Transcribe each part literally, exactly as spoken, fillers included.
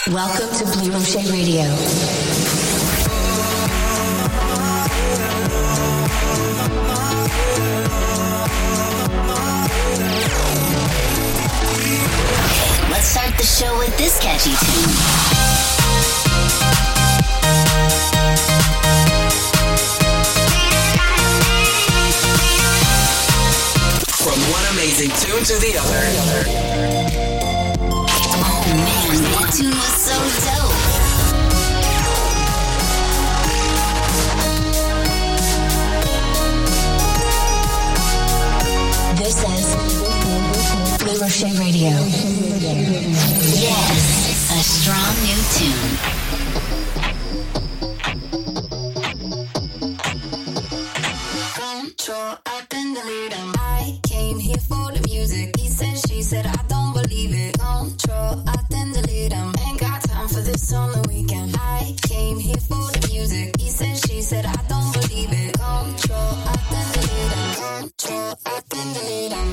Welcome to Blue Rocher Radio. Let's start the show with this catchy tune. From one amazing tune to the other. Oh man, that tune was so dope. This is Blue Rocher Radio. Yes, a strong new tune. Control, up and delete 'em. I came here for the music. He said, she said, I don't believe it. Control, up and delete 'em. Ain't got time for this on the weekend. I came here for the music. He said, she said, I don't believe it. Control, up and delete 'em. Control, up and delete 'em.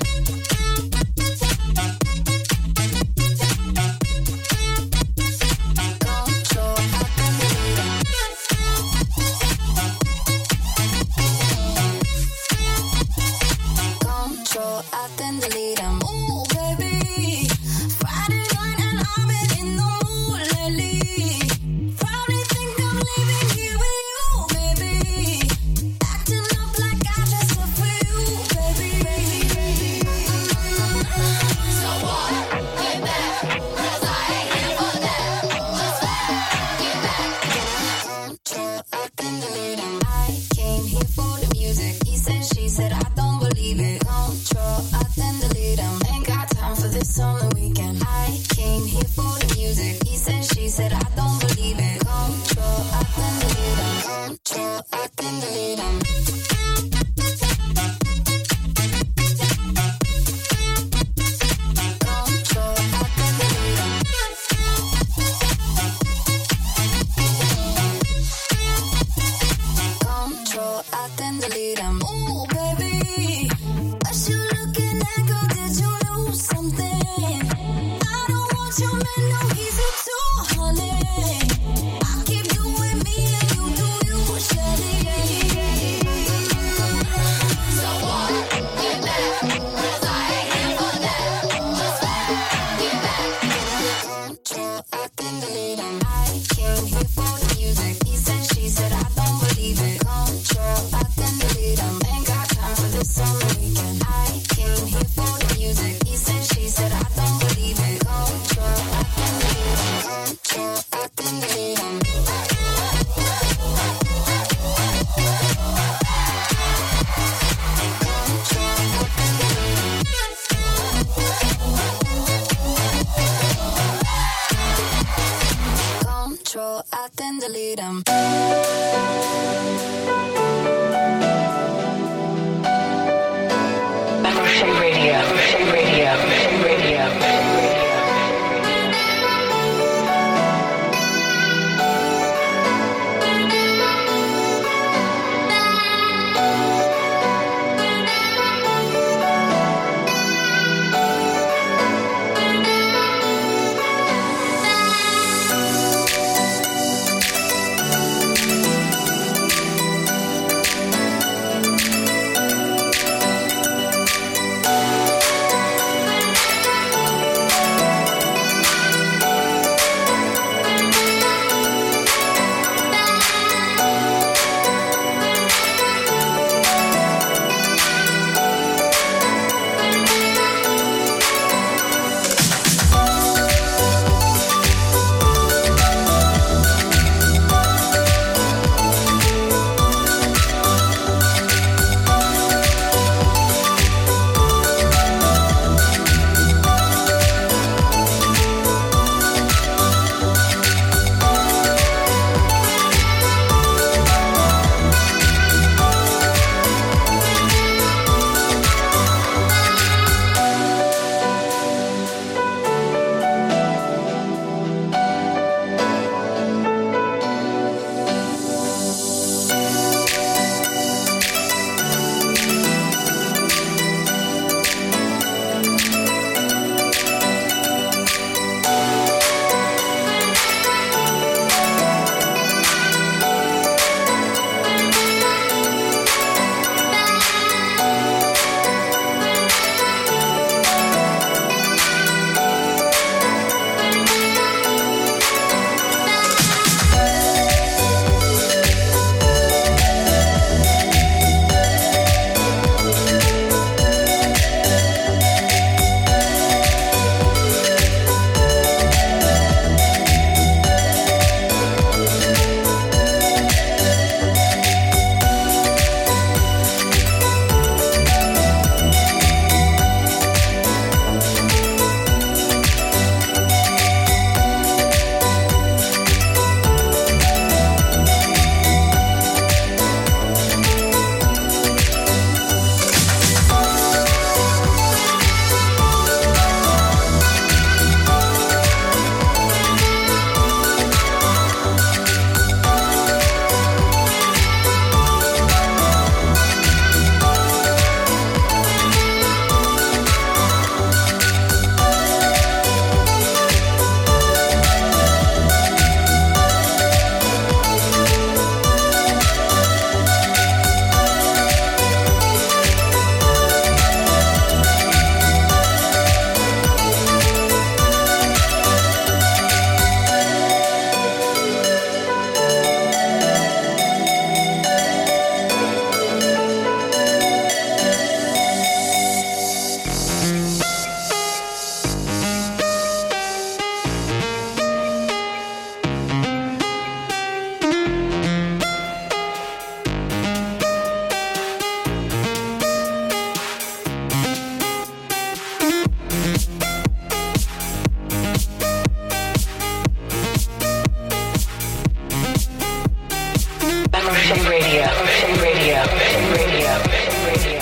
Evershade Radio, Evershade Radio, Evershade Radio, Evershade Radio.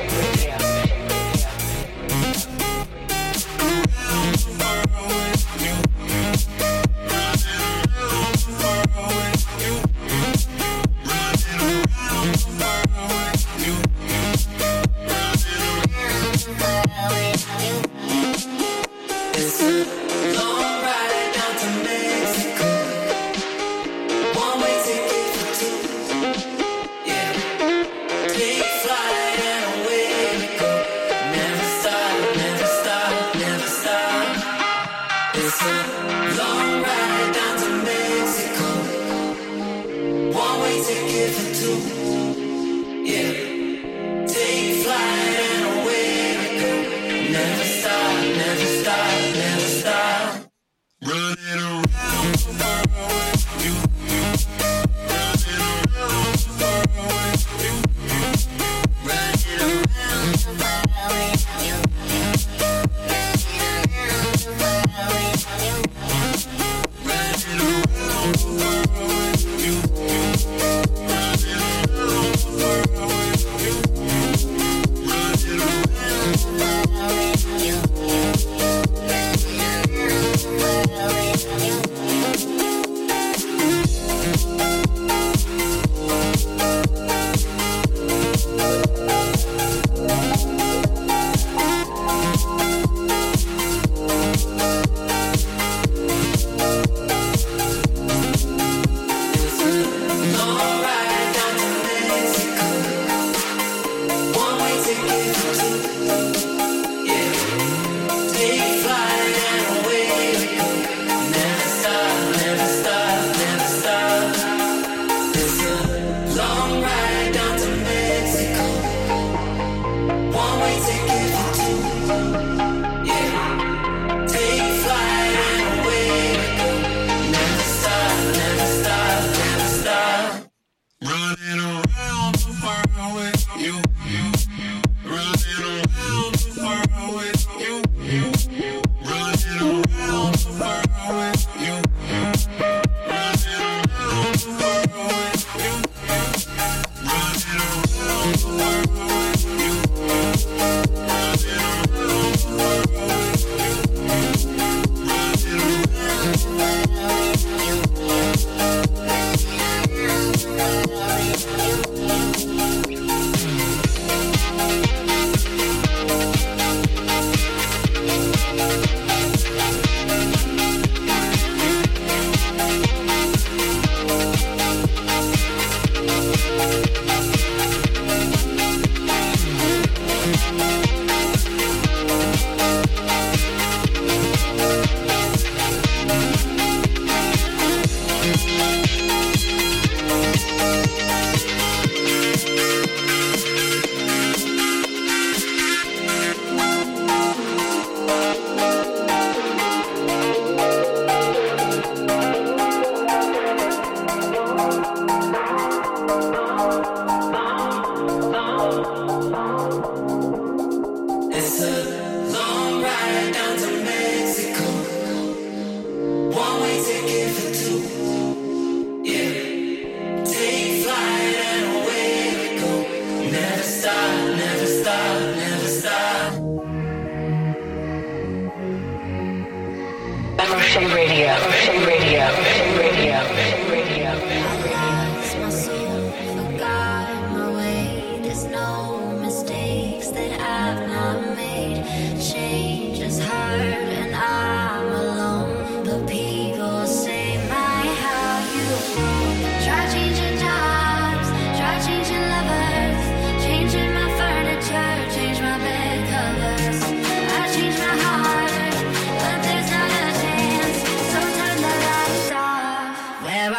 Evershade Radio, Evershade Radio, Evershade Radio, Evershade Radio, Evershade Radio. I lost my soul, forgot my way. There's no mistakes that I've not made. Change is hard and I'm alone, but people say my how you grow. Try changing jobs, try changing lovers, changing my furniture, change my bed covers. I changed my heart, but there's not a chance. Sometimes the lights off. Where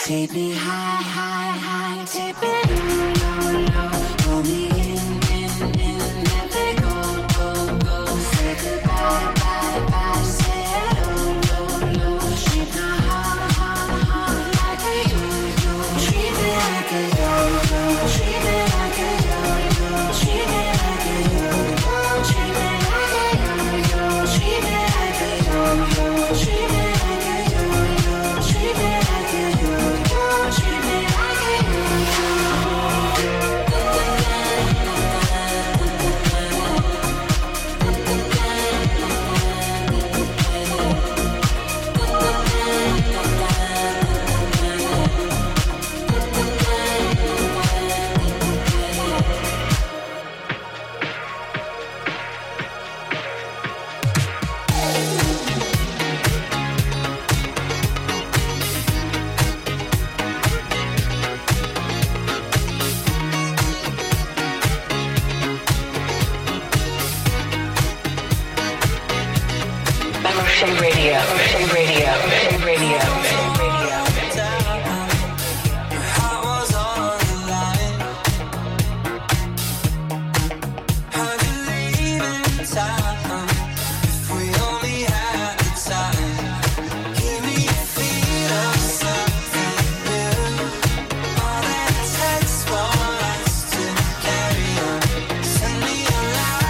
Take me high, high, high, take me low, low, low. Pull me in, in, in, let me go, go, go. Say goodbye, bye, bye, say hello, low, low. Treat me high, high, high, like a yo-yo. Treat me like a yo-yo. Treat me like a yo-yo. Treat me like a yo-yo. Treat me like a yo-yo. Treat me like a yo-yo. Treat me like a yo-yo. Treat me like a yo-yo. Treat me like a Ocean Radio, Ocean Radio, Ocean Radio, Ocean Radio.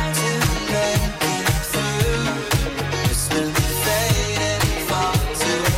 fading far too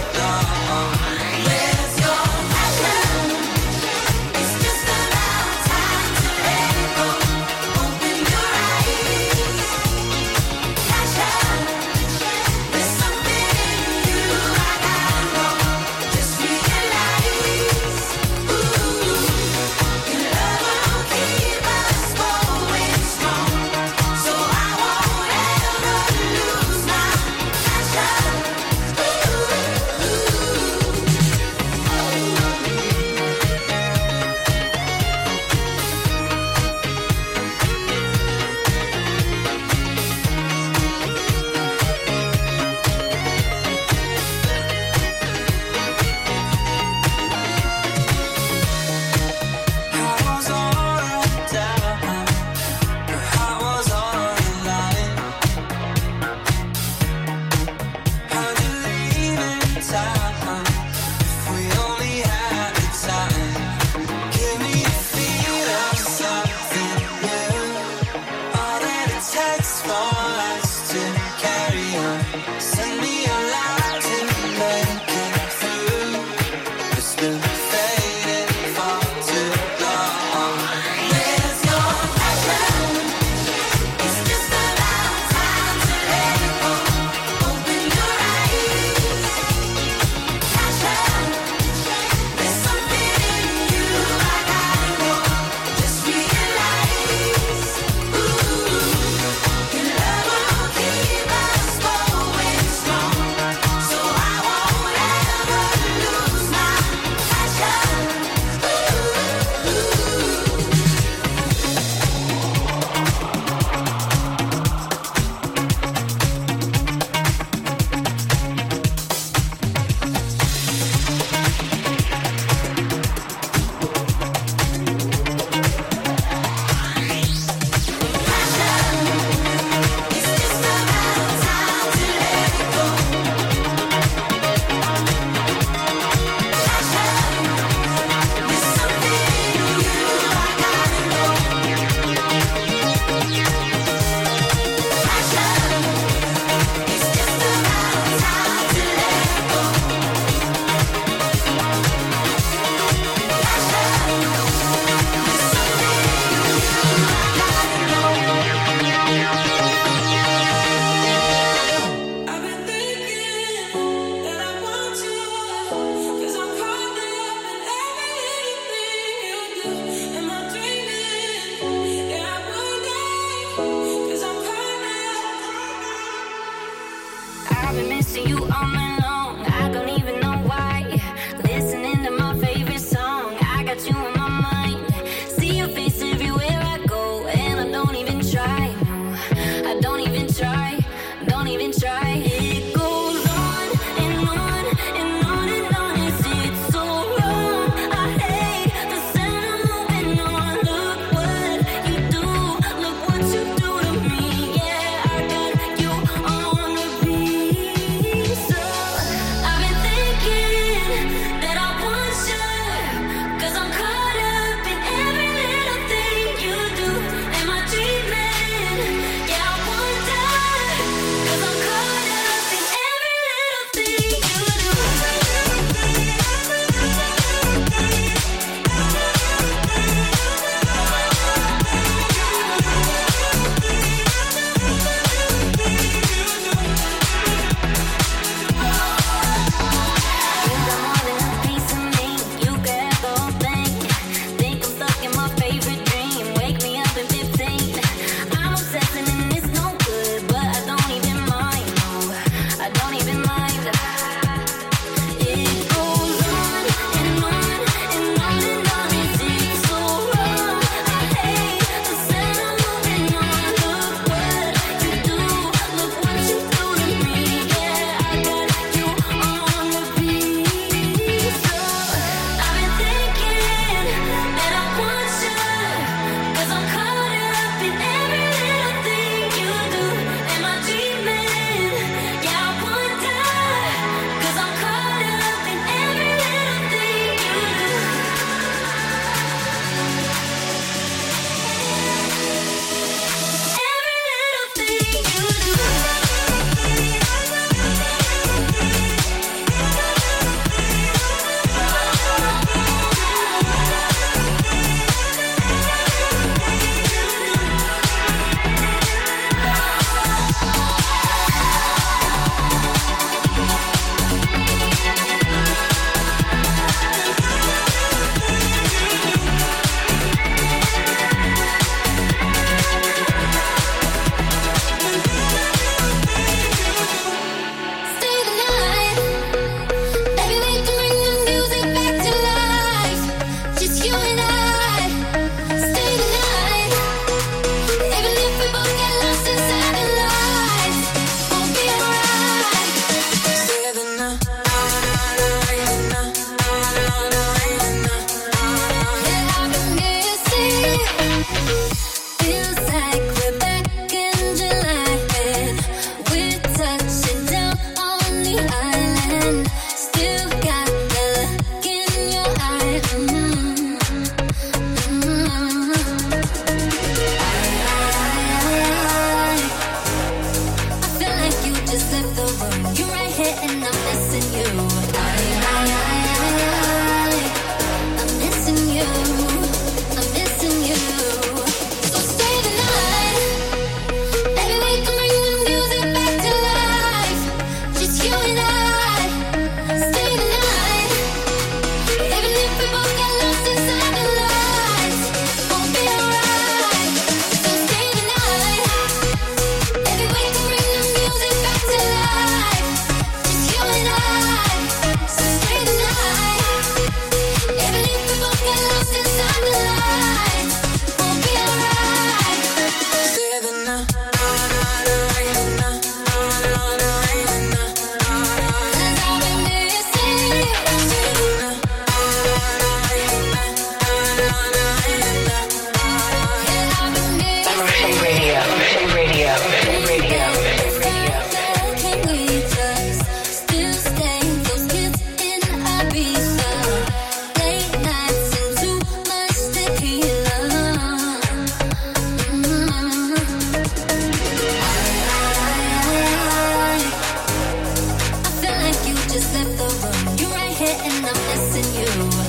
and I'm missing you.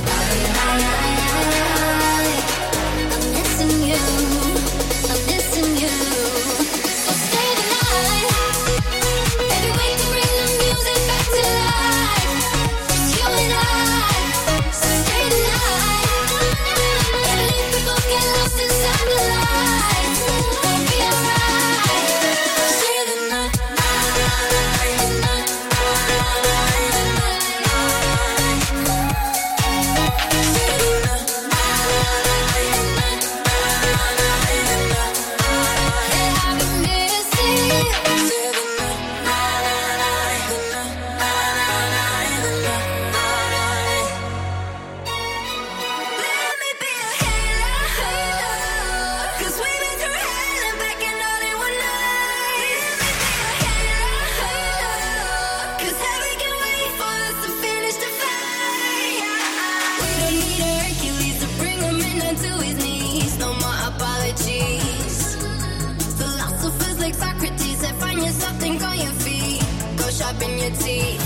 I'm missing you. I'm missing you. So stay the night. Baby, we can bring the music back to life. Just you and I. So stay the night. At least we both get lost inside the lights. We'll be alright. Stay the night. Philosophers like Socrates that find yourself, think on your feet. Go sharpen your teeth.